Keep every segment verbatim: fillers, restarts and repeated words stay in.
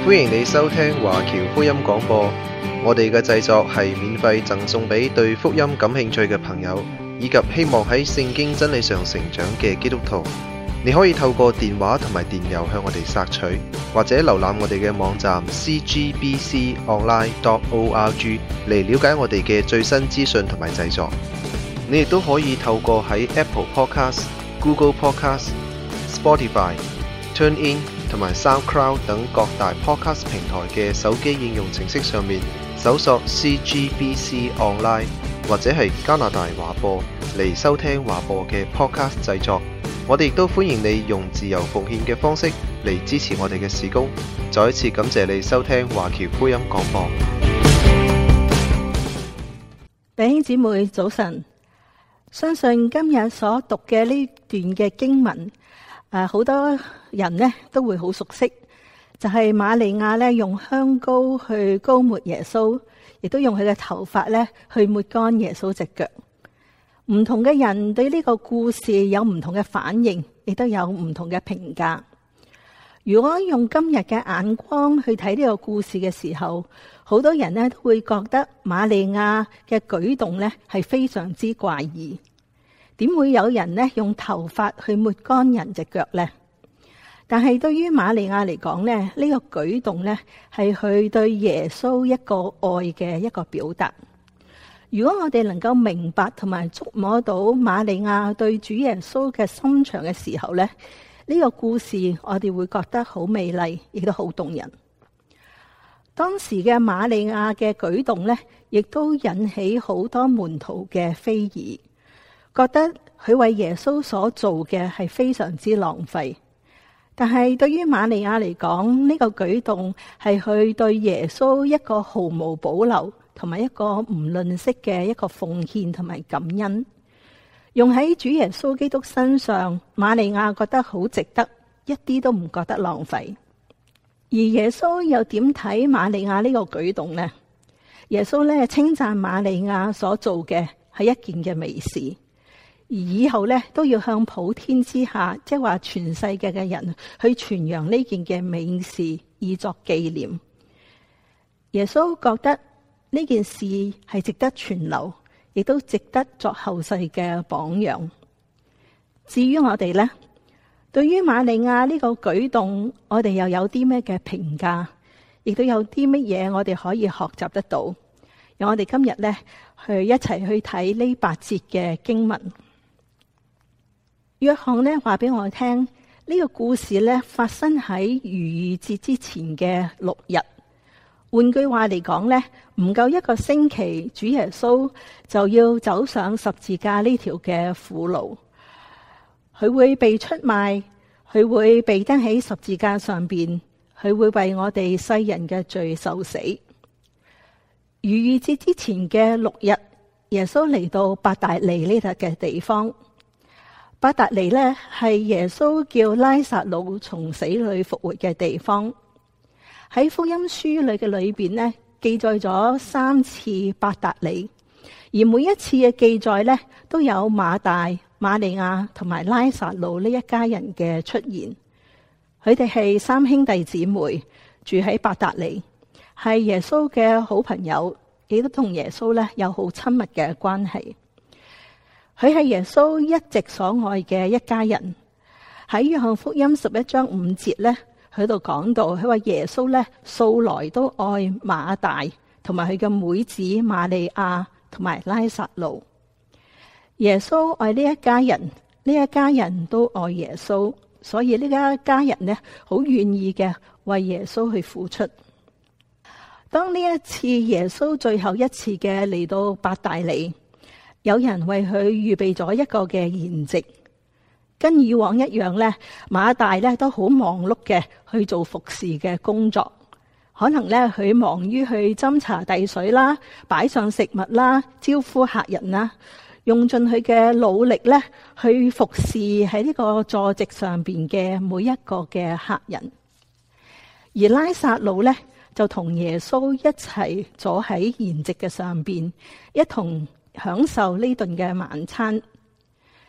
歡迎你收聽華僑福音廣播。我哋嘅製作係免費贈送俾對福音感興趣嘅朋友，以及希望喺聖經真理上成長嘅基督徒。你可以透過電話同埋電郵向我哋索取，或者瀏覽我哋嘅網站 c g b c online dot org 嚟了解我哋嘅最新資訊同埋製作。你亦都可以透過喺 Apple Podcast、Google Podcast、Spotify、TuneIn 同埋 SoundCloud 等各大 Podcast 平台嘅手機應用程式上面搜索 C G B C Online 或者係加拿大華播嚟收聽華播嘅 Podcast 製作。我哋亦都歡迎你用自由奉獻嘅方式嚟支持我哋嘅事工。再一次感謝你收聽華僑福音廣播。 弟兄姊妹早晨，相信今日所讀嘅呢段嘅經文，誒，好多人呢都會好熟悉，就係瑪利亞呢用香膏去膏抹耶穌，亦都用佢嘅頭髮呢去抹乾耶穌隻腳。唔同嘅人對呢個故事有唔同嘅反應，亦都有唔同嘅評價。如果用今日嘅眼光去睇呢個故事嘅時候，好多人呢都會覺得瑪利亞嘅舉動呢係非常之怪異。點會有人呢用頭髮去抹乾人隻腳呢？但係對於瑪利亞嚟講呢，呢、呢個舉動呢係佢對耶穌一個愛嘅一個表達。如果我哋能夠明白同埋觸摸到瑪利亞對主耶穌嘅心腸嘅時候呢，呢、呢個故事我哋會覺得好美麗，亦都好動人。當時嘅瑪利亞嘅舉動呢，亦都引起好多門徒嘅非議，覺得佢為耶穌所做嘅係非常之浪費。但係對於瑪利亞嚟講，呢、呢個舉動係佢對耶穌一個毫無保留同埋一個唔吝嗇嘅一個奉獻同埋感恩，用喺主耶穌基督身上，瑪利亞覺得好值得，一啲都唔覺得浪費。而耶穌又點睇瑪利亞呢個舉動呢？耶穌咧稱讚瑪利亞所做嘅係一件嘅美事，而以後咧都要向普天之下，即係話全世界嘅人去傳揚呢件嘅美事，以作紀念。耶穌覺得呢件事係值得存留，亦都值得作後世嘅榜樣。至於我哋呢，對於瑪利亞呢個舉動，我哋又有啲咩嘅評價，亦都有啲乜嘢我哋可以學習得到。讓我哋今日呢，去一齊去睇呢八節嘅經文。約翰呢話俾我聽，呢個故事呢發生喺逾越節之前嘅六日。換句話嚟講呢，唔夠一個星期，主耶穌就要走上十字架呢條嘅苦路。佢會被出賣，佢會被釘喺十字架上邊，佢會為我哋世人嘅罪受死。逾越節之前嘅六日，耶穌嚟到伯大尼呢度嘅地方。伯大尼呢係耶穌叫拉撒路從死裏復活嘅地方。喺福音書裏嘅裏邊呢，記載咗三次伯大尼，而每一次嘅記載呢，都有馬大、瑪利亞同埋拉撒路呢一家人嘅出現。佢哋係三兄弟姊妹，住喺伯大尼，係耶穌嘅好朋友，亦都同耶穌呢有好親密嘅關係。佢係耶穌一直所愛嘅一家人。喺約翰福音十一章五節呢，喺度講到，佢話耶穌咧素來都愛馬大同埋佢嘅妹子瑪利亞同埋拉撒路。耶穌愛呢一家人，呢一家人都愛耶穌，所以呢一家人呢好願意嘅為耶穌去付出。當呢一次耶穌最後一次嘅嚟到伯大尼，有人為佢預備咗一個嘅筵席。跟以往一樣咧，馬大咧都好忙碌嘅去做服侍嘅工作，可能咧佢忙於去斟茶遞水啦，擺上食物啦，招呼客人啦，用盡佢嘅努力咧去服侍喺呢個坐席上邊嘅每一個嘅客人。而拉撒路咧就同耶穌一齊坐喺筵席嘅上邊，一同享受呢頓嘅晚餐。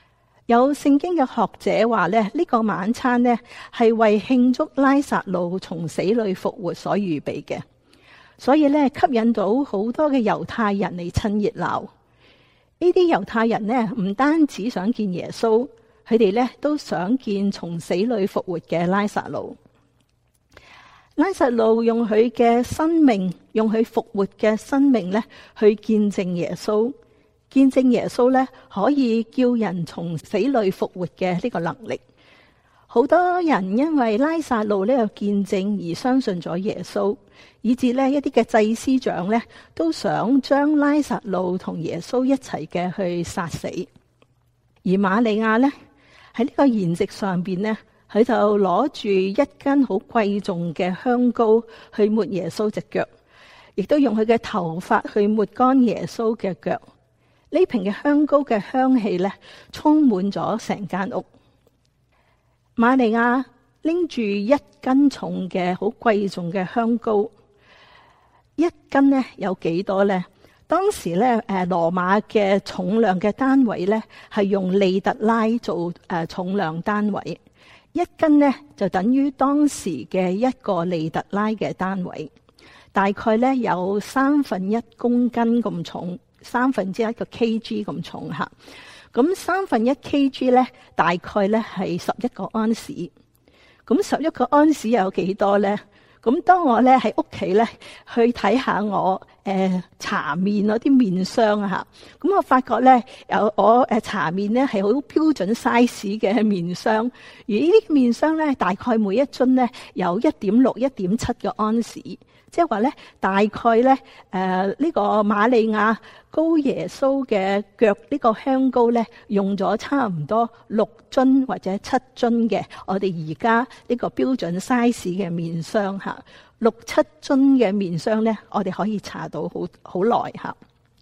有聖經嘅學者話咧，呢個晚餐呢係為慶祝拉撒路從死裏復活所預備嘅，所以咧吸引到好多嘅猶太人嚟趁熱鬧。呢啲猶太人呢唔單止想見耶穌，佢哋咧都想見從死裏復活嘅拉撒路。拉撒路用佢嘅生命，用佢復活嘅生命咧去見證耶穌。見證耶穌咧，可以叫人從死裏復活嘅呢個能力。好多人因為拉撒路呢個見證而相信咗耶穌，以至呢一啲嘅祭司長咧都想將拉撒路同耶穌一齊嘅去殺死。而瑪利亞咧喺呢個筵席上邊呢，佢就攞住一根好貴重嘅香膏去抹耶穌隻腳，亦都用佢嘅頭髮去抹乾耶穌嘅腳。呢瓶嘅香膏嘅香氣咧，充滿咗成間屋。瑪利亞拎住一斤重嘅好貴重嘅香膏，一斤呢有幾多呢？當時咧，誒羅馬嘅重量嘅單位咧係用利特拉做誒重量單位，一斤呢就等於當時嘅一個利特拉嘅單位，大概咧有三分一公斤咁重。三分之一個 kg 咁重吓，咁三分一 kg 咧，大概咧係十一個安士。咁十一個安士有幾多咧？咁當我咧喺屋企咧去睇下我誒搽麵嗰啲麵霜啊吓，咁我發覺咧有我誒搽麵咧係好標準 size 嘅麵霜，而呢啲麵霜咧大概每一樽咧有一點六、一點七個安士。即係話咧，大概咧，誒、呃、呢、這個瑪利亞膏耶穌嘅腳呢個香膏咧，用咗差唔多六樽或者七樽嘅我哋而家呢個標準 size 嘅面霜吓，六七樽嘅面霜咧，我哋可以搽到好好耐吓。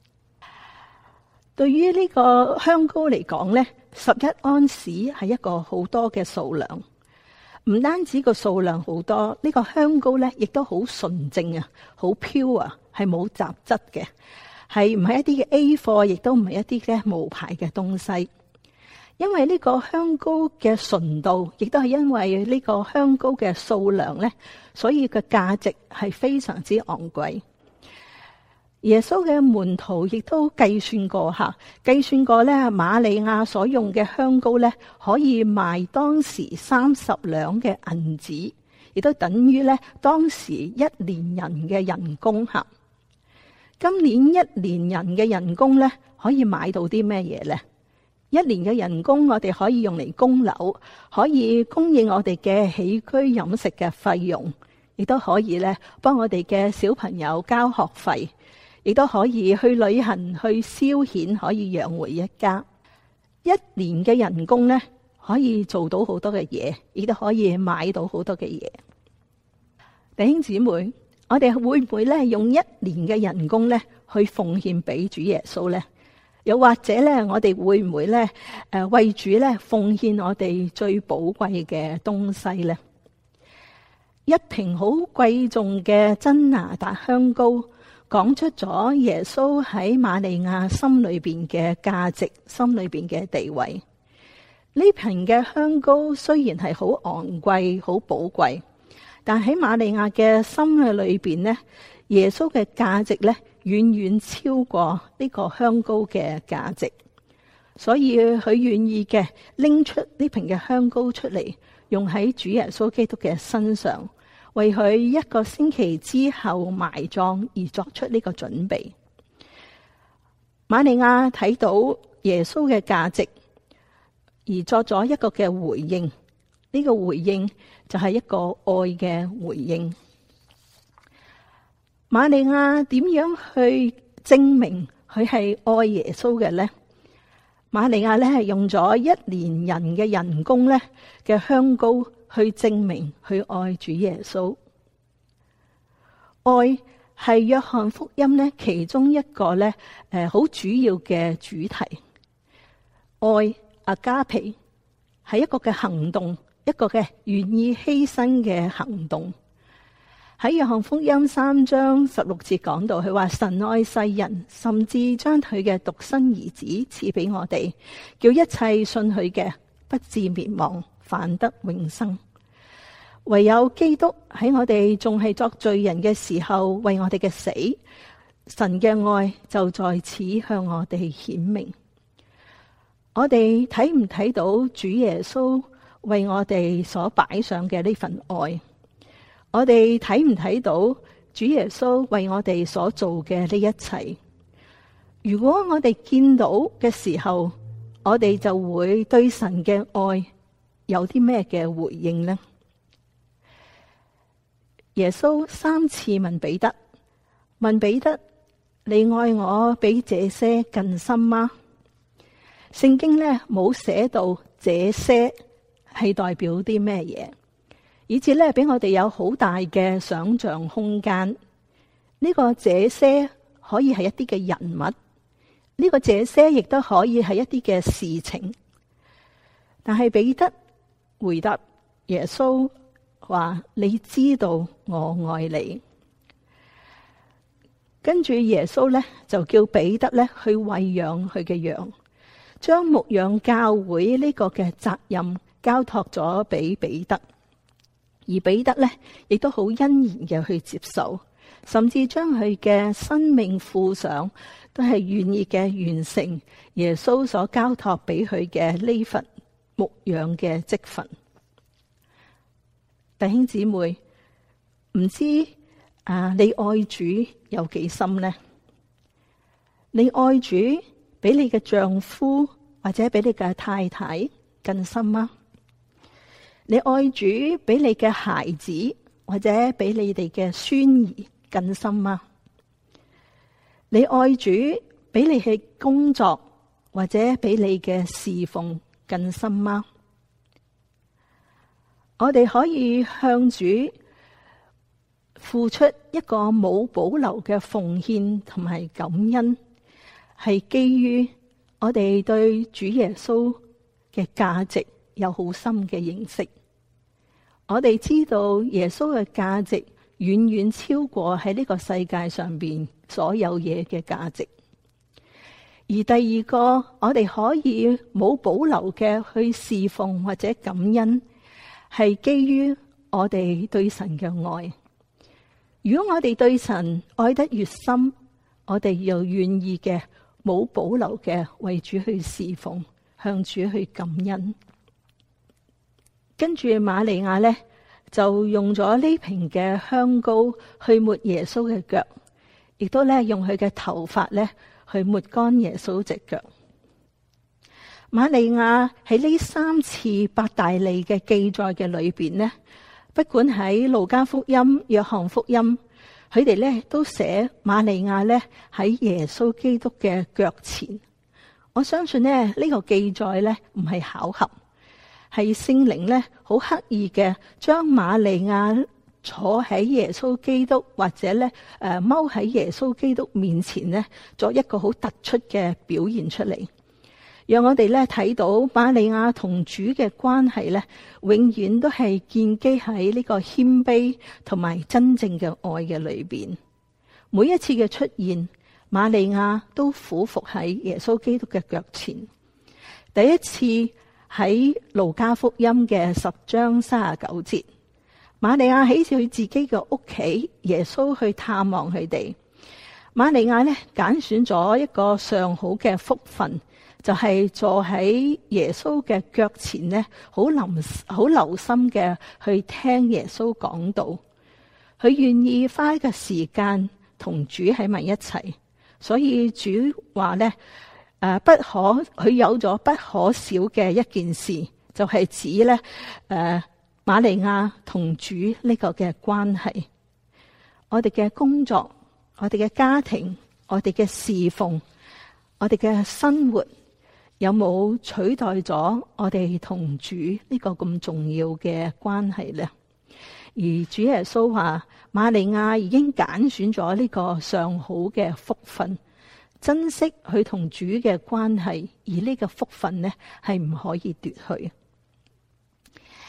對於呢個香膏嚟講咧，十一安士係一個好多嘅數量。唔單止個數量好多，呢個香膏咧亦都好純正啊，好 pure 啊，係冇雜質嘅，係唔係一啲嘅 A 貨，亦都唔係一啲嘅無牌嘅東西。因為呢個香膏嘅純度，亦都係因為呢個香膏嘅數量咧，所以個價值係非常之昂貴。耶穌嘅門徒亦都計算過吓，計算過咧，瑪利亞所用嘅香膏咧，可以賣當時三十兩嘅銀子，亦都等於咧當時一年人嘅人工吓。今年一年人嘅人工咧，可以買到啲咩嘢咧？一年嘅人工，我哋可以用嚟供樓，可以供應我哋嘅起居飲食嘅費用，亦都可以咧幫我哋嘅小朋友交學費。亦都可以去旅行、去消遣，可以養活一家。一年嘅人工咧，可以做到好多嘅嘢，亦都可以買到好多嘅嘢。弟兄姊妹，我哋會唔會咧用一年嘅人工咧去奉獻俾主耶穌咧？又或者咧，我哋會唔會咧誒為主咧奉獻我哋最寶貴嘅東西咧？一瓶好貴重嘅真哪噠香膏，講出咗耶穌喺瑪利亞心裏邊嘅價值，心裏邊嘅地位。呢瓶嘅香膏雖然係好昂貴、好寶貴，但喺瑪利亞嘅心嘅裏邊呢，耶穌嘅價值咧遠遠超過呢個香膏嘅價值，所以佢願意嘅拎出呢瓶嘅香膏出嚟，用喺主耶穌基督嘅身上。為佢一個星期之後埋葬而作出呢個準備。瑪利亞睇到耶穌嘅價值，而作咗一個嘅回應。呢個回應就係一個愛嘅回應。瑪利亞點樣去證明佢係愛耶穌嘅呢？瑪利亞咧係用咗一年人嘅人工咧嘅香膏去證明去愛主耶穌。愛係約翰福音咧其中一個咧誒好主要嘅主題。愛阿加皮係一個嘅行動，一個嘅願意犧牲嘅行動。 喺約翰福音三章十六節講到，佢話神愛世人，甚至將佢嘅獨生兒子賜俾我哋，叫一切信佢嘅不至滅亡，反得永生。唯有基督喺我哋仲係作罪人嘅時候，為我哋嘅死，神嘅愛就在此向我哋顯明。我哋睇唔睇到主耶穌為我哋所擺上嘅呢份愛？我哋睇唔睇到主耶穌為我哋所做嘅呢一切？如果我哋見到嘅時候，我哋就會對神嘅愛有啲咩嘅回應呢？耶穌三次問彼得，問彼得：你愛我比這些更深嗎？聖經呢冇寫到這些係代表啲咩嘢，以至呢俾我哋有好大嘅想象空間。呢個這些可以係一啲嘅人物，呢個這些亦都可以係一啲嘅事情。但係彼得回答耶穌話：你知道我愛你。跟住耶穌咧就叫彼得咧去餵養佢嘅羊，將牧養教會呢個嘅責任交託咗俾彼得，而彼得咧亦都好欣然嘅去接受，甚至將佢嘅生命付上，都係願意嘅完成耶穌所交託俾佢嘅呢份牧養嘅職分。弟兄姊妹，唔知啊，你愛主有幾深呢？你愛主比你嘅丈夫或者比你嘅太太更深嗎？你愛主比你嘅孩子或者比你哋嘅孫兒更深嗎？你愛主比你嘅工作或者比你嘅侍奉更深嗎？我哋可以向主付出一個冇保留嘅奉獻同埋感恩，係基於我哋對主耶穌嘅價值有好深嘅認識。我哋知道耶穌嘅價值遠遠超過喺呢個世界上邊所有嘢嘅價值。而第二個，我哋可以冇保留嘅去侍奉或者感恩，係基於我哋對神嘅愛。如果我哋對神愛得越深，我哋又願意嘅冇保留嘅為主去侍奉，向主去感恩。跟住瑪利亞呢，就用咗呢瓶嘅香膏去抹耶穌嘅腳，亦都咧用佢嘅頭髮咧去抹乾耶穌隻腳。瑪利亞喺呢三次伯大尼嘅記載嘅裏邊呢，不管喺路加福音、約翰福音，佢哋咧都寫瑪利亞咧喺耶穌基督嘅腳前。我相信咧呢個記載咧唔係巧合，係聖靈咧好刻意嘅將瑪利亞坐喺耶穌基督或者咧誒踎喺耶穌基督面前咧，作一個好突出嘅表現出嚟。讓我哋咧睇到瑪利亞同主嘅關係咧，永遠都係建基喺呢個謙卑同埋真正嘅愛嘅裏邊。每一次嘅出現，瑪利亞都俯伏喺耶穌基督嘅腳前。第一次喺路加福音嘅十章三十九節，瑪利亞喺佢自己嘅屋企，耶穌去探望佢哋。瑪利亞咧揀選咗一個上好嘅福分，就係、是、坐喺耶穌嘅腳前咧，好臨好留心嘅去聽耶穌講道。佢願意花一個時間同主喺埋一齊，所以主話咧誒，不可佢有咗不可少嘅一件事，就係、是、指咧誒瑪利亞同主呢個嘅關係。我哋嘅工作，我哋嘅家庭，我哋嘅侍奉，我哋嘅生活，有冇取代咗我哋同主呢個咁重要嘅關係呢？而主耶穌話，瑪利亞已經揀選咗呢個上好嘅福分，珍惜佢同主嘅關係，而呢個福分呢係唔可以奪去。而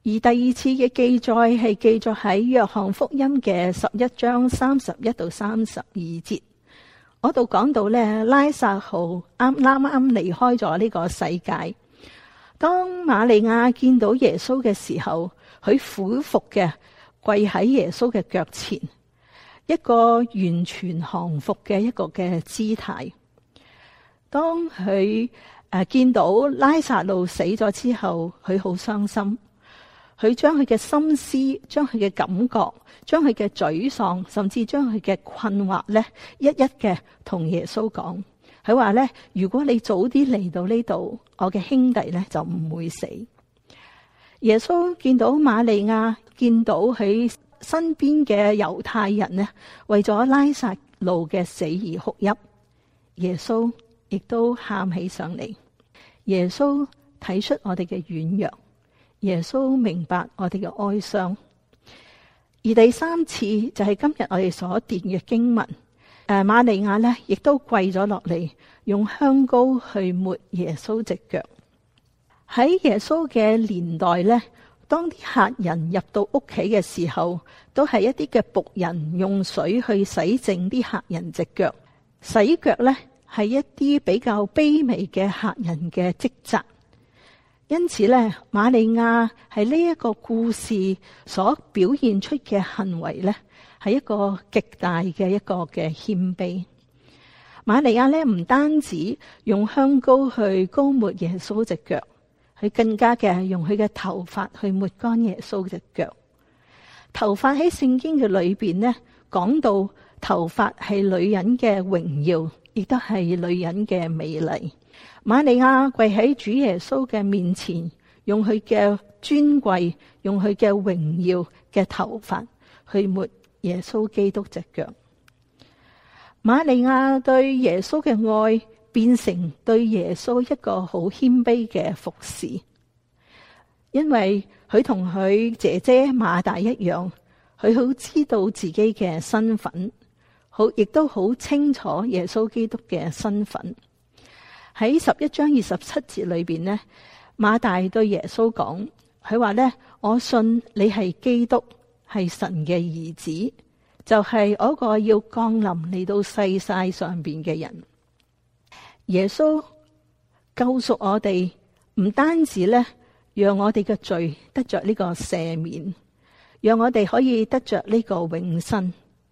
而第二次嘅記載係記載喺約翰福音嘅十一章三十一到三十二節，嗰度講到咧，拉撒路啱啱啱離開咗呢個世界。當瑪利亞見到耶穌嘅時候，佢俯伏嘅跪喺耶穌嘅腳前，一個完全降服嘅一個嘅姿態。當佢誒見到拉撒路死咗之後，佢好傷心，佢將佢嘅心思、將佢嘅感覺、將佢嘅沮喪，甚至將佢嘅困惑咧，一一嘅同耶穌講。佢話咧，如果你早啲嚟到呢度，我嘅兄弟咧就唔會死。耶穌見到瑪利亞，見到佢身邊嘅猶太人呢，為咗拉撒路嘅死而哭泣，耶穌亦都喊起上嚟。耶穌睇出我哋嘅軟弱，耶穌明白我哋嘅哀傷。而第三次就係今日我哋所念嘅經文。誒，瑪利亞咧，亦都跪咗落嚟，用香膏去抹耶穌隻腳。喺耶穌嘅年代咧，當啲客人入到屋企嘅時候，都係一啲嘅僕人用水去洗淨啲客人隻腳。洗腳咧，係一啲比較卑微嘅客人嘅職責。因此咧，瑪利亞係呢一個故事所表現出嘅行為咧，係一個極大嘅一個嘅謙卑。瑪利亞咧，唔單止用香膏去膏抹耶穌隻腳，佢更加嘅用佢嘅頭髮去抹乾耶穌隻腳。頭髮喺聖經嘅裏邊呢，講到頭髮係女人嘅榮耀，亦都係女人嘅美麗。瑪利亞跪喺主耶穌嘅面前，用佢嘅尊貴，用佢嘅榮耀嘅頭髮去抹耶穌基督隻腳。瑪利亞對耶穌嘅愛變成對耶穌一個好謙卑嘅服侍，因為佢同佢姐姐馬大一樣，佢好知道自己嘅身份，好亦都好清楚耶穌基督嘅身份。喺十一章二十七節裏邊呢，馬大對耶穌講，佢話呢：我信你係基督，係神嘅兒子，就係、是、嗰個要降臨嚟到世世上邊嘅人。耶穌救贖我哋，唔單止咧，讓我哋嘅罪得着呢個赦免，讓我哋可以得着呢個永生。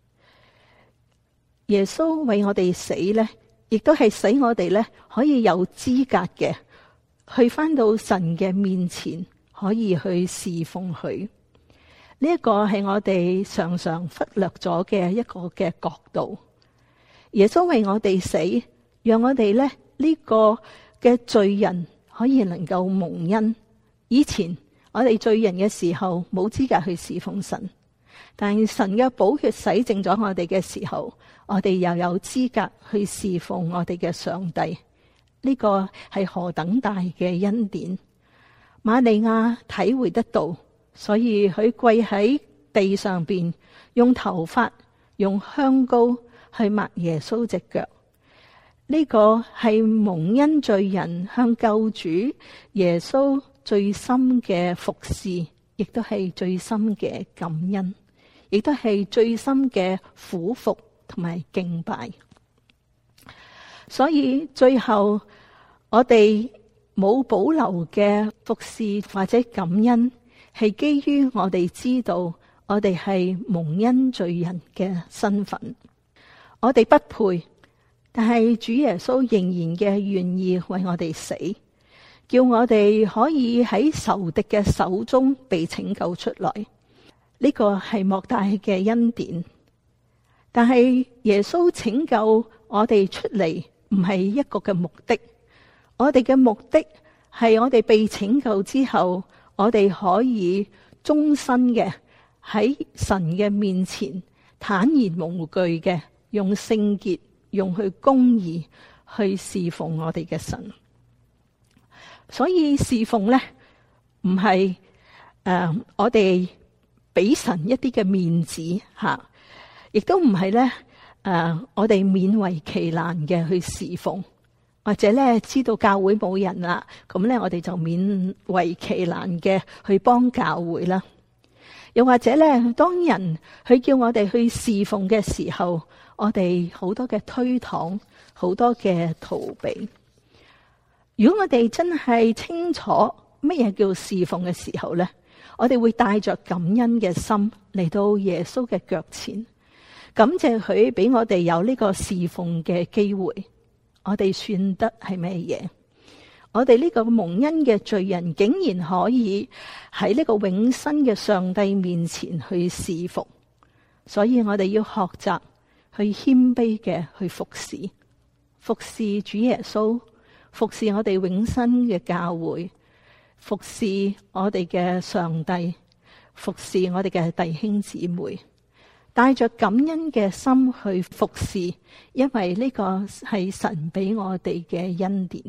耶穌為我哋死咧，亦都係使我哋咧可以有資格嘅去返到神嘅面前，可以去侍奉佢。呢一個係我哋常常忽略咗嘅一個嘅角度。耶穌為我哋死，讓我哋咧呢個嘅罪人可以能夠蒙恩。以前我哋罪人嘅時候冇資格去侍奉神，但係神嘅寶血洗淨咗我哋嘅時候，我哋又有資格去侍奉我哋嘅上帝。呢個係何等大嘅恩典！瑪利亞體會得到，所以佢跪喺地上邊，用頭髮、用香膏去抹耶穌隻腳。呢個係蒙恩罪人向救主耶穌最深嘅服侍，亦都係最深嘅感恩，亦都係最深嘅俯伏同埋敬拜。所以最後我哋冇保留嘅服侍或者感恩，係基於我哋知道我哋係蒙恩罪人嘅身份，我哋不配，但係主耶穌仍然嘅願意為我哋死，叫我哋可以喺仇敵嘅手中被拯救出來。呢個係莫大嘅恩典。但係耶穌拯救我哋出嚟，唔係一個嘅目的。我哋嘅目的係我哋被拯救之後，我哋可以終身嘅喺神嘅面前坦然無懼嘅，用聖潔、用去公義去侍奉我哋嘅神。所以侍奉咧，唔係誒我哋俾神一啲嘅面子吓，亦都唔係咧誒我哋勉為其難嘅去侍奉。 或者咧知道教會冇人啦，咁咧我哋就勉為其難嘅去幫教會啦。又或者咧，當人去叫我哋去侍奉嘅時候，我哋好多嘅推搪，好多嘅逃避。如果我哋真係清楚乜嘢叫侍奉嘅時候咧，我哋會帶着感恩嘅心嚟到耶穌嘅腳前，感謝佢俾我哋有呢個侍奉嘅機會。我哋算得係咩嘢？我哋呢個蒙恩嘅罪人，竟然可以喺呢個永生嘅上帝面前去侍奉，所以我哋要學習去謙卑嘅去服侍，服侍主耶穌，服侍我哋永生嘅教會，服侍我哋嘅上帝，服侍我哋嘅弟兄姊妹。帶着感恩嘅心去服侍，因為呢個係神俾我哋嘅恩典。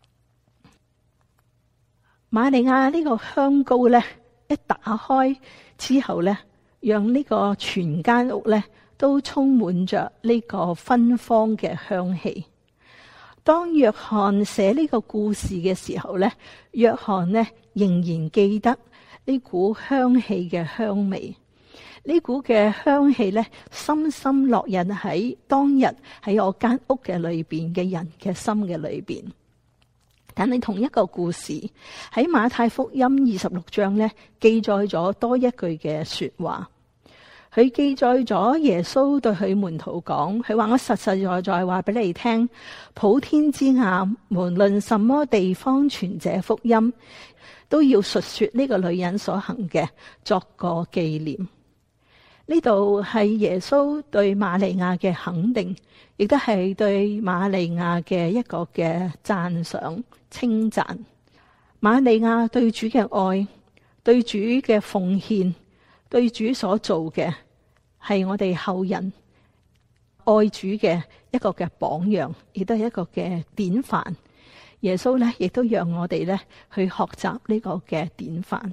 瑪利亞呢個香膏咧，一打開之後咧，讓呢個全間屋咧都充滿着呢個芬芳嘅香氣。當約翰寫呢個故事嘅時候咧，約翰呢仍然記得呢股香氣嘅香味。呢股嘅香氣咧，深深烙印喺當日喺我間屋嘅裏邊嘅人嘅心嘅裏邊。但係同一個故事喺馬太福音二十六章咧，記載咗多一句嘅說話。佢記載咗耶穌對佢門徒講，佢話：我實實在在話俾你聽，普天之下無論什麼地方傳這福音，都要述說呢個女人所行嘅，作個紀念。呢度係耶穌對瑪利亞嘅肯定，亦都係對瑪利亞嘅一個嘅讚賞、稱讚。瑪利亞對主嘅愛，對主嘅奉獻，對主所做嘅，係我哋後人愛主嘅一個嘅榜樣，亦都係一個嘅典範。耶穌咧，亦都讓我哋咧去學習呢個嘅典範。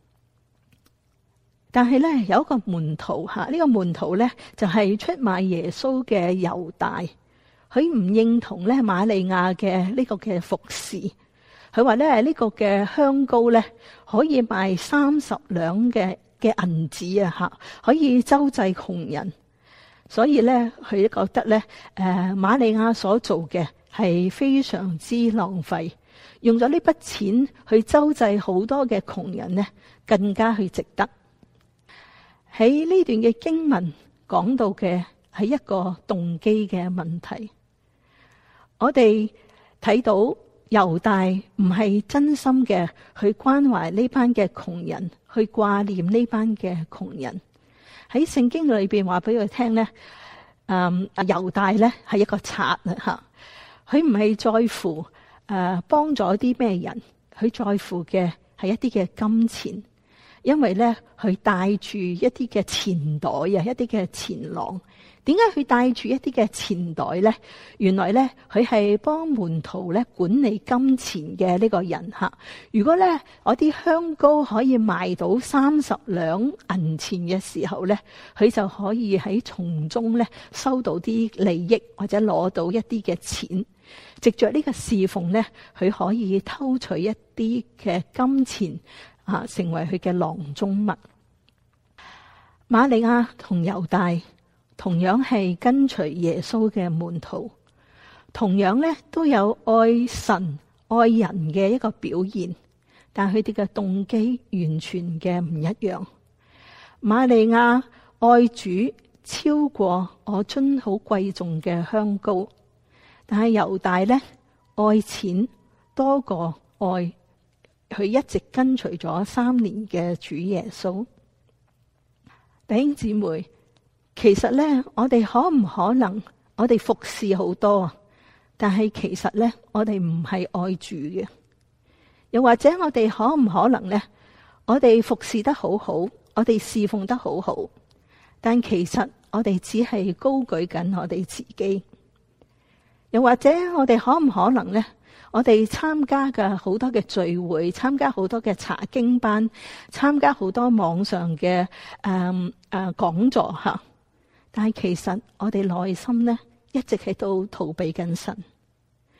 但係咧，有一個門徒吓，呢、這個門徒咧就係、是、出賣耶穌嘅猶大，佢唔認同咧瑪利亞嘅呢個嘅服侍，佢話咧呢、這個嘅香膏咧可以賣三十兩嘅嘅銀子啊吓，可以周濟窮人，所以咧佢覺得咧誒瑪利亞所做嘅係非常之浪費，用咗呢筆錢去周濟好多嘅窮人呢，更加去值得。喺呢段嘅經文講到嘅係一個動機嘅問題，我哋睇到猶大唔係真心嘅去關懷呢班嘅窮人，去掛念呢班嘅窮人。喺聖經裏邊話俾佢聽咧，嗯，猶大咧係一個賊啊吓，佢唔係在乎誒幫咗啲咩人，佢在乎嘅係一啲嘅金錢。因為咧，佢帶住一啲嘅錢袋啊，一啲嘅錢囊。點解佢帶住一啲嘅錢袋咧？原來咧，佢係幫門徒咧管理金錢嘅呢個人吓。如果咧，我啲香膏可以賣到三十兩銀錢嘅時候咧，佢就可以喺從中咧收到啲利益，或者攞到一啲嘅錢。藉着呢個侍奉咧，佢可以偷取一啲嘅金錢。啊，成為佢嘅囊中物。瑪利亞同猶大同樣係跟隨耶穌嘅門徒，同樣咧都有愛神愛人嘅一個表現，但佢哋嘅動機完全嘅唔一樣。瑪利亞愛主超過我樽好貴重嘅香膏，但係猶大咧愛錢多過愛佢一直跟隨咗三年嘅主耶穌。弟兄姊妹，其實咧，我哋可唔可能我哋服侍好多啊？但係其實咧，我哋唔係愛主嘅。又或者我哋可唔可能咧？我哋服侍得好好，我哋侍奉得好好，但其實我哋只係高舉緊我哋自己。又或者我哋可唔可能咧？我哋參加嘅好多嘅聚會，參加好多嘅查經班，參加好多網上嘅誒誒講座吓，但係其實我哋內心咧一直喺度逃避緊神。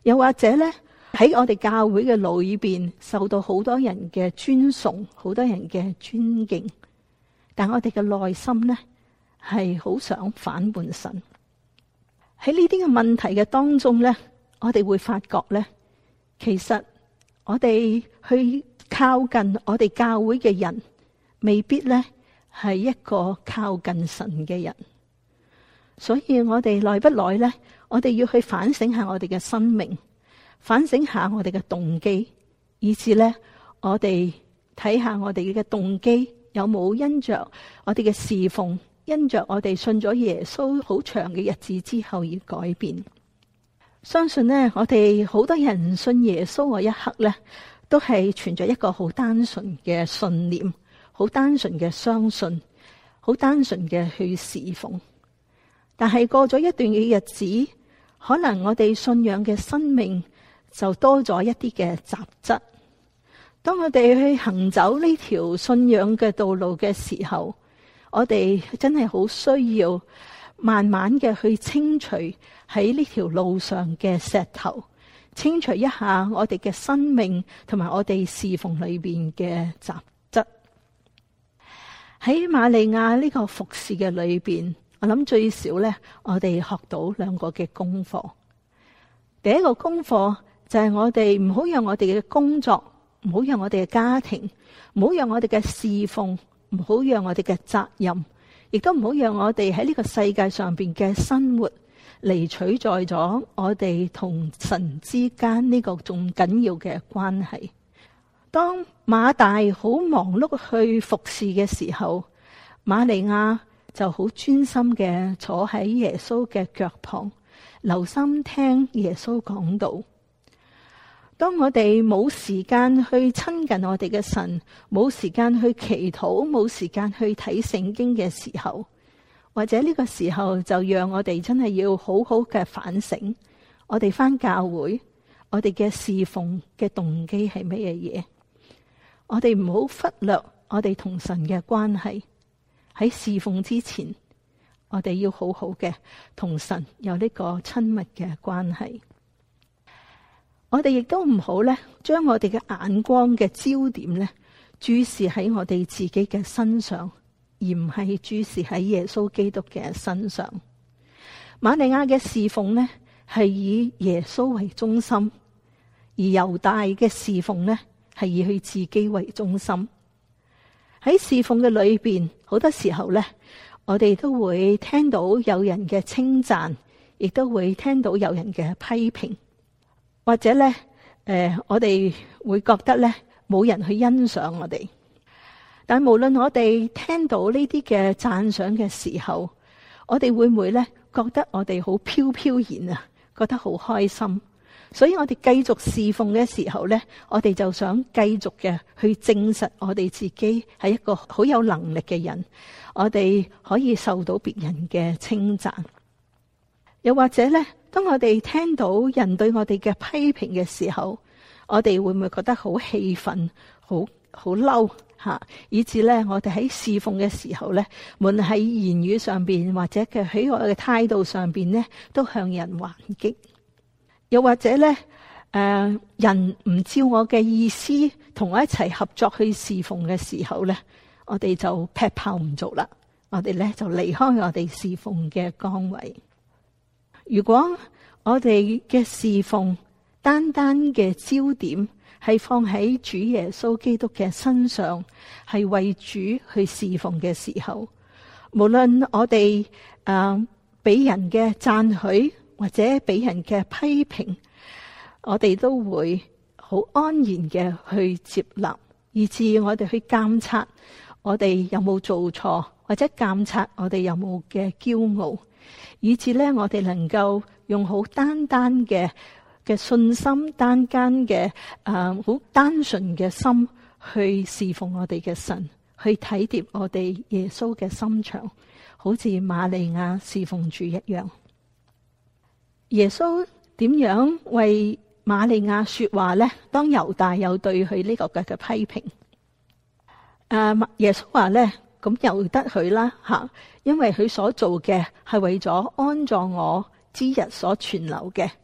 又或者呢，喺我哋教會嘅裏邊受到好多人嘅尊崇，好多人嘅尊敬，但我哋嘅內心呢，係好想反叛神。喺呢啲嘅問題嘅當中呢，我哋會發覺呢，其實我哋去靠近我哋教會嘅人，未必呢係一個靠近神嘅人。所以我哋耐不耐呢，我哋要去反省下我哋嘅生命，反省下我哋嘅動機，以至呢，我哋睇下我哋嘅動機有冇因着我哋嘅侍奉，因着我哋信咗耶穌好長嘅日子之後而改變。相信呢，我哋好多人信耶穌嗰一刻呢，都係存着一個好單純嘅信念，好單純嘅相信，好單純嘅去侍奉。但係過咗一段嘅日子，可能我哋信仰嘅生命就多咗一啲嘅雜質。當我哋去行走呢條信仰嘅道路嘅時候，我哋真係好需要慢慢嘅去清除喺呢條路上嘅石頭，清除一下我哋嘅生命同埋我哋侍奉裏邊嘅雜質。喺瑪利亞呢個服侍嘅裏邊，我諗最少呢，我哋學到兩個嘅功課。第一個功課就係我哋唔好讓我哋嘅工作，唔好讓我哋嘅家庭，唔好讓我哋嘅侍奉，唔好讓我哋嘅責任，亦都唔好讓我哋喺呢個世界上邊嘅生活嚟取代咗我哋同神之間呢個仲緊要嘅關係。當馬大好忙碌去服侍嘅時候，瑪利亞就好專心嘅坐喺耶穌嘅腳旁，留心聽耶穌講道。當我哋冇時間去親近我哋嘅神，冇時間去祈禱，冇時間去睇聖經嘅時候，或者呢個時候就讓我哋真係要好好嘅反省，我哋返教會，我哋嘅侍奉嘅動機係乜嘢嘢？我哋唔好忽略我哋同神嘅關係。喺侍奉之前，我哋要好好嘅同神有呢個親密嘅關係。我哋亦都唔好咧，將我哋嘅眼光嘅焦點咧注視喺我哋自己嘅身上，而唔係注視喺耶穌基督嘅身上。瑪利亞嘅侍奉呢，係以耶穌為中心，而猶大嘅侍奉呢，係以佢自己為中心。喺侍奉嘅裏邊，好多時候呢，我哋都會聽到有人嘅稱讚，亦都會聽到有人嘅批評，或者呢，誒、呃，我哋會覺得呢，冇人去欣賞我哋。但無論我哋聽到呢啲嘅讚賞嘅時候，我哋會唔會呢，覺得我哋好飄飄然啊，覺得好開心？所以我哋繼續侍奉嘅時候呢，我哋就想繼續嘅去證實我哋自己係一個好有能力嘅人，我哋可以受到別人嘅稱讚。又或者呢，當我哋聽到人對我哋嘅批評嘅時候，我哋會唔會覺得好氣憤、好好嬲吓？以至呢，我哋喺侍奉嘅時候呢，無論喺言語上邊或者嘅喺我嘅態度上邊呢，都向人還擊。又或者咧，誒、呃，人唔照我嘅意思同我一齊合作去侍奉嘅時候咧，我哋就劈炮唔做啦，我哋咧就離開我哋侍奉嘅崗位。如果我哋嘅侍奉單單嘅焦點係放喺主耶穌基督嘅身上，係為主去侍奉嘅時候，無論我哋誒俾人嘅讚許，或者俾人嘅批評，我哋都會好安然嘅去接納，以至我哋去監察我哋有冇做錯，或者監察我哋有冇嘅驕傲，以至咧我哋能夠用好單單嘅嘅信心，單單嘅誒好單純嘅心去侍奉我哋嘅神，去體貼我哋耶穌嘅心腸，好似瑪利亞侍奉主一樣。耶穌點樣為瑪利亞說話呢？當猶大有對佢呢個嘅嘅批評，誒，耶穌話呢，咁由得佢啦吓，因為佢所做嘅係為咗安葬我之日所存留嘅，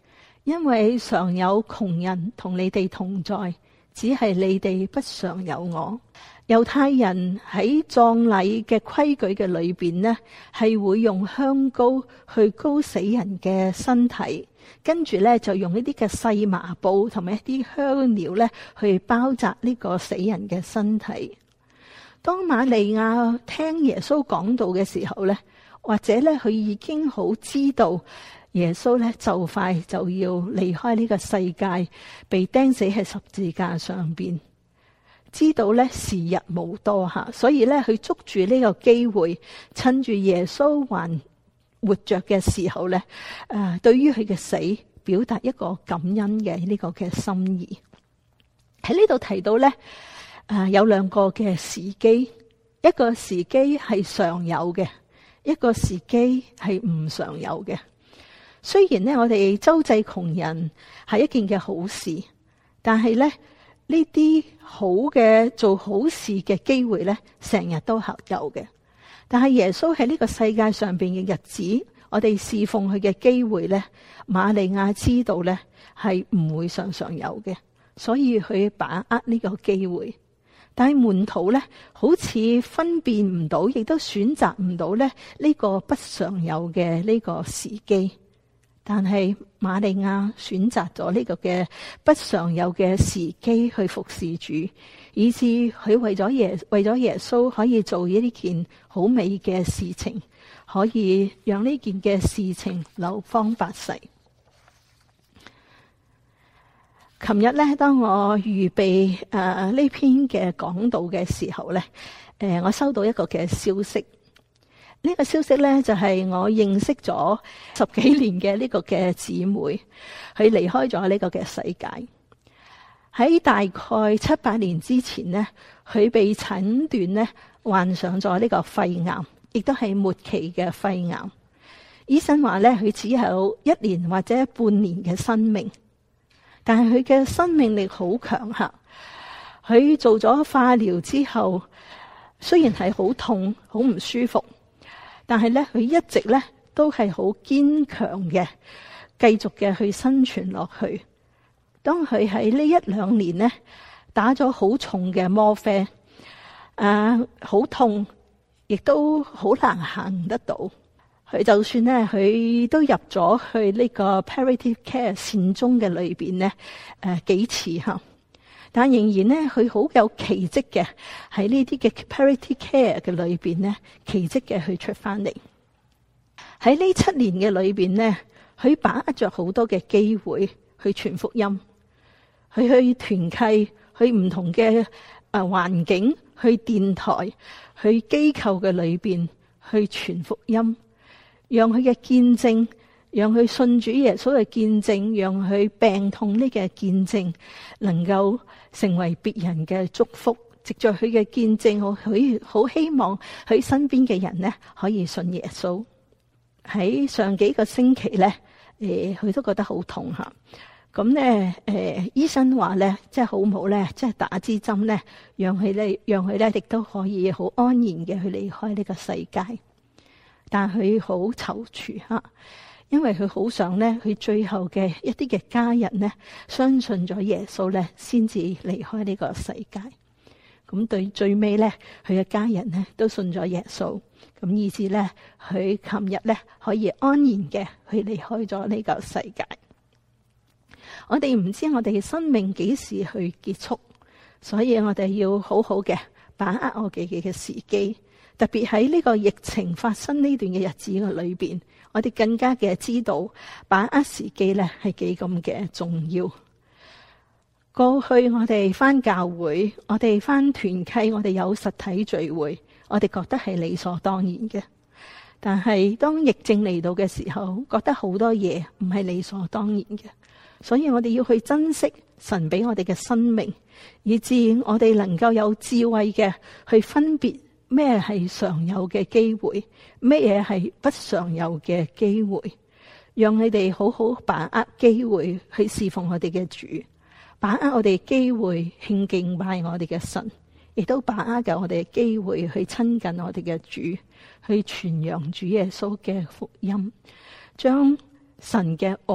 因為常有窮人同你哋同在，只係你哋不常有我。猶太人喺葬禮嘅規矩嘅裏邊呢，係會用香膏去膏死人嘅身體，跟住呢就用一啲嘅細麻布同埋一啲香料呢去包紮呢個死人嘅身體。當瑪利亞聽耶穌講道嘅時候呢，或者呢佢已經好知道耶穌呢就快就要離開呢個世界，被釘死喺十字架上邊。知道咧時日無多吓，所以咧佢捉住呢個機會，趁住耶穌還活着嘅時候咧，誒，對於佢嘅死表達一個感恩嘅呢個嘅心意。喺呢度提到咧，誒有兩個嘅時機，一個時機係常有嘅，一個時機係唔常有嘅。雖然咧我哋周濟窮人係一件嘅好事，但係咧。呢啲好嘅做好事嘅機會咧，成日都係有嘅。但係耶穌喺呢個世界上邊嘅日子，我哋侍奉佢嘅機會咧，瑪利亞知道咧係唔會常常有嘅，所以佢把握呢個機會。但係門徒咧，好似分辨唔到，亦都選擇唔到咧呢個不常有嘅呢個時機。但係瑪利亞選擇咗呢個嘅不常有嘅時機去服侍主，以致佢為咗耶為咗耶穌可以做呢件好美嘅事情，可以讓呢件嘅事情流芳百世。琴日咧，當我預備誒呢、呃、篇嘅講道嘅時候咧，誒、呃、我收到一個嘅消息。呢個消息咧就係我認識咗十幾年嘅呢個嘅姊妹，佢離開咗呢個嘅世界。喺大概七八年之前呢，佢被診斷呢患上咗呢個肺癌，亦都係末期嘅肺癌。醫生話咧，佢只有一年或者半年嘅生命，但係佢嘅生命力好強吓。佢做咗化療之後，雖然係好痛、好唔舒服。但係咧，佢一直咧都係好堅強嘅，繼續嘅去生存落去。當佢喺呢一兩年呢打咗好重嘅嗎啡，啊，好痛，亦都好難行得到。佢就算咧，佢都入咗去呢個 palliative care 善終嘅裏邊咧，誒幾次吓，但仍然咧，佢好有奇蹟嘅喺呢啲嘅 palliative care 嘅裏邊咧，奇蹟嘅去出翻嚟。喺呢七年嘅裏邊咧，佢把握着好多嘅機會去傳福音，去去團契，去唔同嘅誒環境，去電台，去機構嘅裏邊去傳福音，讓佢嘅見證，讓佢信主耶穌嘅見證，讓佢病痛呢嘅見證能夠成為別人嘅祝福。藉着佢嘅見證，我佢好希望佢身邊嘅人呢可以信耶穌。喺上幾個星期咧，誒，佢都覺得好痛吓。咁咧，誒，醫生話咧，即係好唔好咧，即係打支針咧，讓佢咧，讓佢咧，亦都可以好安然嘅去離開呢個世界。但係佢好躊躇吓，因為佢好想咧，佢最後嘅一啲嘅家人咧，相信咗耶穌咧，先至離開呢個世界。咁對最尾咧，佢嘅家人咧都信咗耶穌，咁以至咧，佢琴日咧可以安然嘅去離開咗呢個世界。我哋唔知我哋嘅生命幾時去結束，所以我哋要好好嘅把握我哋嘅時機。特別喺呢個疫情發生呢段嘅日子嘅裏邊，我哋更加嘅知道把握時機咧係幾咁嘅重要。過去我哋返教會，我哋返團契，我哋有實體聚會，我哋覺得係理所當然嘅。但係當疫症嚟到嘅時候，覺得好多嘢唔係理所當然嘅。所以我哋要去珍惜神俾我哋嘅生命，以致我哋能夠有智慧嘅去分別咩係常有嘅機會，咩嘢係不常有嘅機會，讓你哋好好把握機會去侍奉我哋嘅主。把握我哋機會獻敬拜我哋嘅神，亦都把握嘅我哋嘅機會去親近我哋嘅主，去傳揚主耶穌嘅福音，將神嘅愛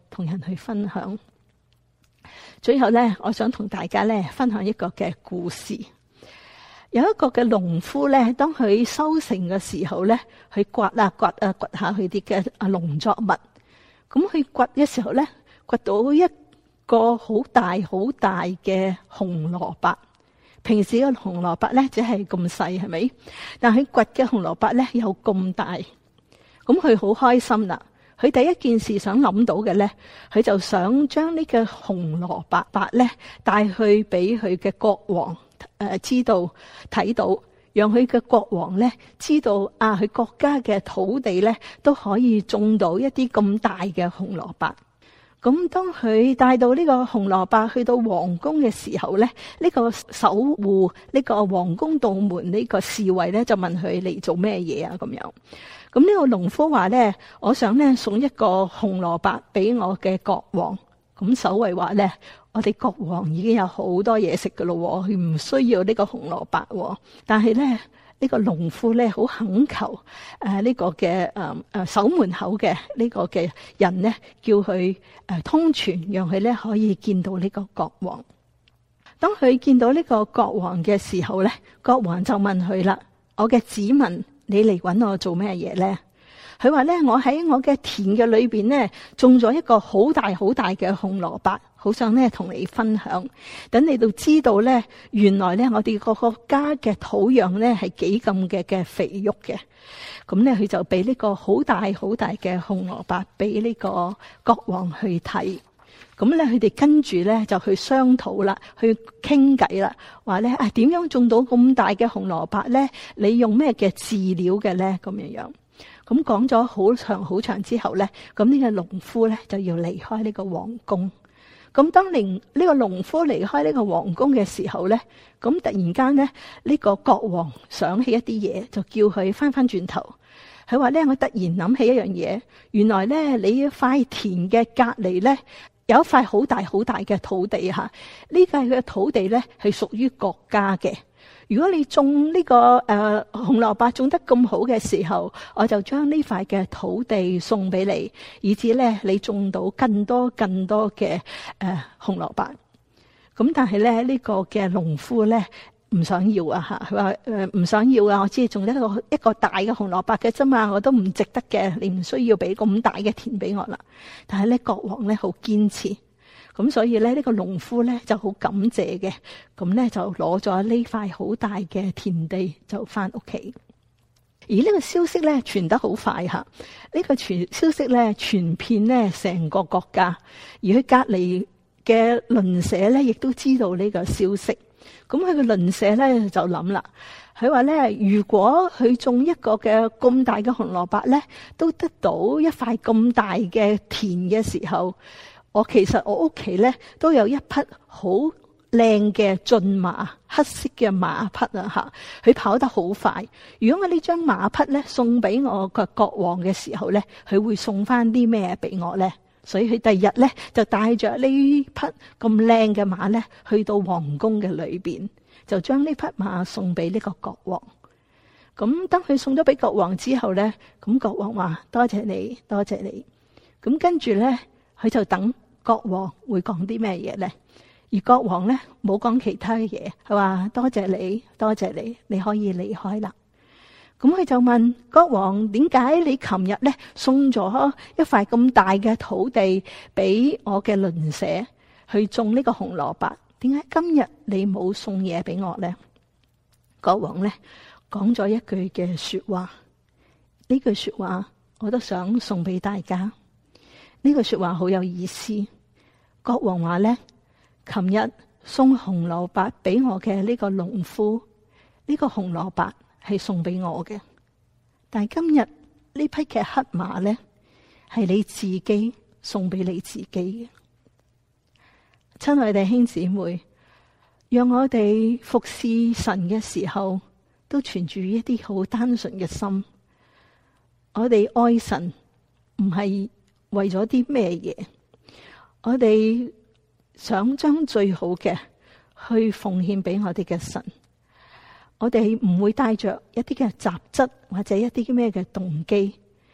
同人去分享。最後咧，我想同大家咧分享一個嘅故事。有一個嘅農夫咧，當佢收成嘅時候咧，去刮啊刮啊刮下佢啲嘅啊農作物。咁佢刮嘅時候咧，刮到一個好大好大嘅紅蘿蔔。平時嘅紅蘿蔔咧只係咁細，係咪？但係刮嘅紅蘿蔔咧有咁大。咁佢好開心啦。佢第一件事想諗到嘅咧，佢就想將呢個紅蘿蔔白咧帶去俾佢嘅國王。誒、呃，知道睇到，讓佢嘅國王咧知道啊，佢國家嘅土地咧都可以種到一啲咁大嘅紅蘿蔔。咁當佢帶到呢個紅蘿蔔去到皇宮嘅時候咧，呢、呢個守護呢個皇宮道門呢個侍衛咧就問佢嚟做咩嘢啊？咁樣，咁呢個農夫話咧，我想咧送一個紅蘿蔔俾我嘅國王。咁守衛話咧，我哋國王已經有好多嘢食噶咯，佢唔需要呢個紅蘿蔔。但係咧，呢個農夫咧好懇求誒呢個嘅誒誒守門口嘅呢個嘅人咧，叫佢誒通傳，讓佢咧可以見到呢個國王。當佢見到呢個國王嘅時候咧，國王就問佢啦：我嘅子民，你嚟搵我做咩嘢咧？佢話咧，我喺我嘅田嘅裏邊咧，種咗一個好大好大嘅紅蘿蔔，好想咧同你分享，等你都知道咧，原來咧我哋個國家嘅土壤咧係幾咁嘅嘅肥沃嘅。咁咧佢就俾呢個好大好大嘅紅蘿蔔俾呢個國王去睇。咁咧佢哋跟住咧就去商討啦，去傾偈啦，話咧啊點樣種到咁大嘅紅蘿蔔咧？你用咩嘅飼料嘅咧？咁樣樣。咁講咗好長好長之後咧，咁呢個農夫咧就要離開呢個皇宮。咁當年呢個農夫離開呢個皇宮嘅時候咧，咁突然間咧呢個國王想起一啲嘢，就叫佢翻翻轉頭。佢話咧，我突然諗起一樣嘢，原來咧你塊田嘅隔籬咧有一塊好大好大嘅土地吓，呢塊嘅土地咧係屬於國家嘅。如果你種呢、這個誒、呃、紅蘿蔔種得咁好嘅時候，我就將呢塊嘅土地送俾你，以至咧你種到更多更多嘅誒、呃、紅蘿蔔。咁但係咧呢、這個嘅農夫咧唔想要啊吓，佢話誒唔想要啊，我只係種一個一個大嘅紅蘿蔔嘅啫嘛，我都唔值得嘅，你唔需要俾咁大嘅田俾我啦。但係咧國王咧好堅持。咁所以咧，呢個農夫咧就好感謝嘅，咁咧就攞咗呢塊好大嘅田地就翻屋企。而呢個消息咧傳得好快吓，呢個傳消息咧傳遍咧成個國家，而佢隔籬嘅鄰舍咧亦都知道呢個消息。咁佢嘅鄰舍咧就諗啦，佢話咧，如果佢種一個嘅咁大嘅紅蘿蔔咧，都得到一塊咁大嘅田嘅時候，我其實我屋企咧都有一匹好靚嘅駿馬，黑色嘅馬匹啊吓，佢跑得好快。如果我呢張馬匹咧送俾我個國王嘅時候咧，佢會送翻啲咩俾我咧？所以佢第二日咧就帶着呢匹咁靚嘅馬咧去到皇宮嘅裏邊，就將呢匹馬送俾呢個國王。咁當佢送咗俾國王之後咧，咁國王話多謝你，多謝你。咁跟住咧，佢就等國王會講啲咩嘢咧？而國王咧冇講其他嘅嘢，佢話多謝你，多謝你，你可以離開啦。咁佢就問國王：點解你琴日咧送咗一塊咁大嘅土地俾我嘅鄰舍去種呢個紅蘿蔔？點解今日你冇送嘢俾我咧？國王咧講咗一句嘅說話，呢句說話我都想送俾大家。呢句說話好有意思。國王話咧，琴日送紅蘿蔔俾我嘅呢個農夫，呢個紅蘿蔔係送俾我嘅，但係今日呢匹嘅黑馬咧，係你自己送俾你自己嘅。親愛弟兄姊妹，讓我哋服侍神嘅時候，都存住一啲好單純嘅心。我哋愛神唔係為咗啲咩嘢，我哋想將最好嘅去奉獻俾我哋嘅神。我哋唔會帶着一啲嘅雜質或者一啲咩嘅動機，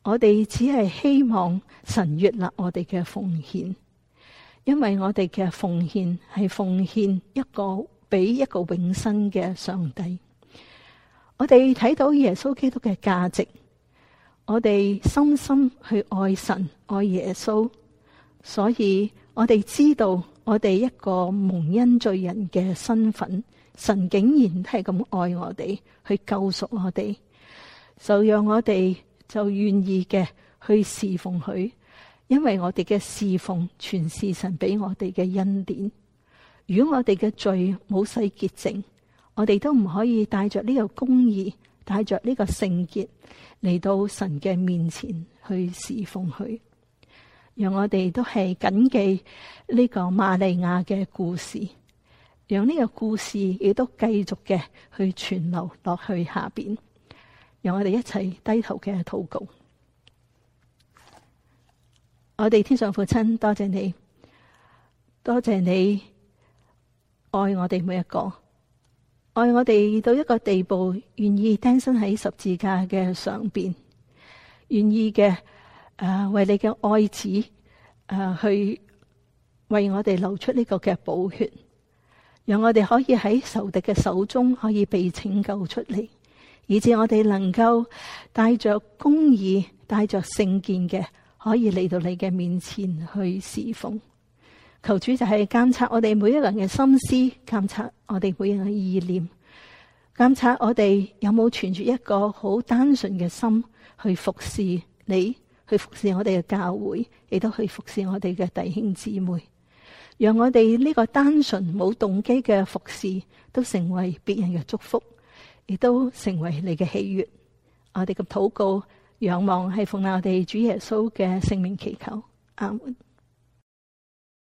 我哋只係希望神悅納我哋嘅奉獻，因為我哋嘅奉獻係奉獻一個俾一個永生嘅上帝。我哋睇到耶穌基督嘅價值，我哋深深去愛神愛耶穌，所以我哋知道我哋一個蒙恩罪人嘅身份，神竟然係咁愛我哋，去救贖我哋，就讓我哋就願意嘅去侍奉佢，因為我哋嘅侍奉全是神俾我哋嘅恩典。如果我哋嘅罪冇洗潔淨，我哋都唔可以帶着呢個公義，帶着呢個聖潔嚟到神嘅面前去侍奉佢。讓我哋都係謹記呢個瑪利亞嘅故事，讓呢個故事亦都繼續嘅去傳流落去下邊。讓我哋一齊低頭嘅禱告。我哋天上父親，多謝你，多謝你愛我哋每一個，愛我哋到一個地步，願意釘身喺十字架嘅上邊，願意嘅誒、呃、為你嘅愛子誒、呃、去為我哋流出呢個嘅寶血，讓我哋可以喺仇敵嘅手中可以被拯救出嚟，以致我哋能夠帶着公義、帶着聖潔嘅，可以嚟到你嘅面前去侍奉。求主就係監察我哋每一個人嘅心思，監察我哋每一個人嘅意念，監察我哋有冇存住一個好單純嘅心去服侍你，去服侍我哋嘅教會，亦都去服侍我哋嘅弟兄姊妹。讓我哋呢個單純冇動機嘅服侍，都成為別人嘅祝福，亦都成為你嘅喜悅。我哋嘅禱告仰望係奉我哋主耶穌嘅聖名祈求，阿門。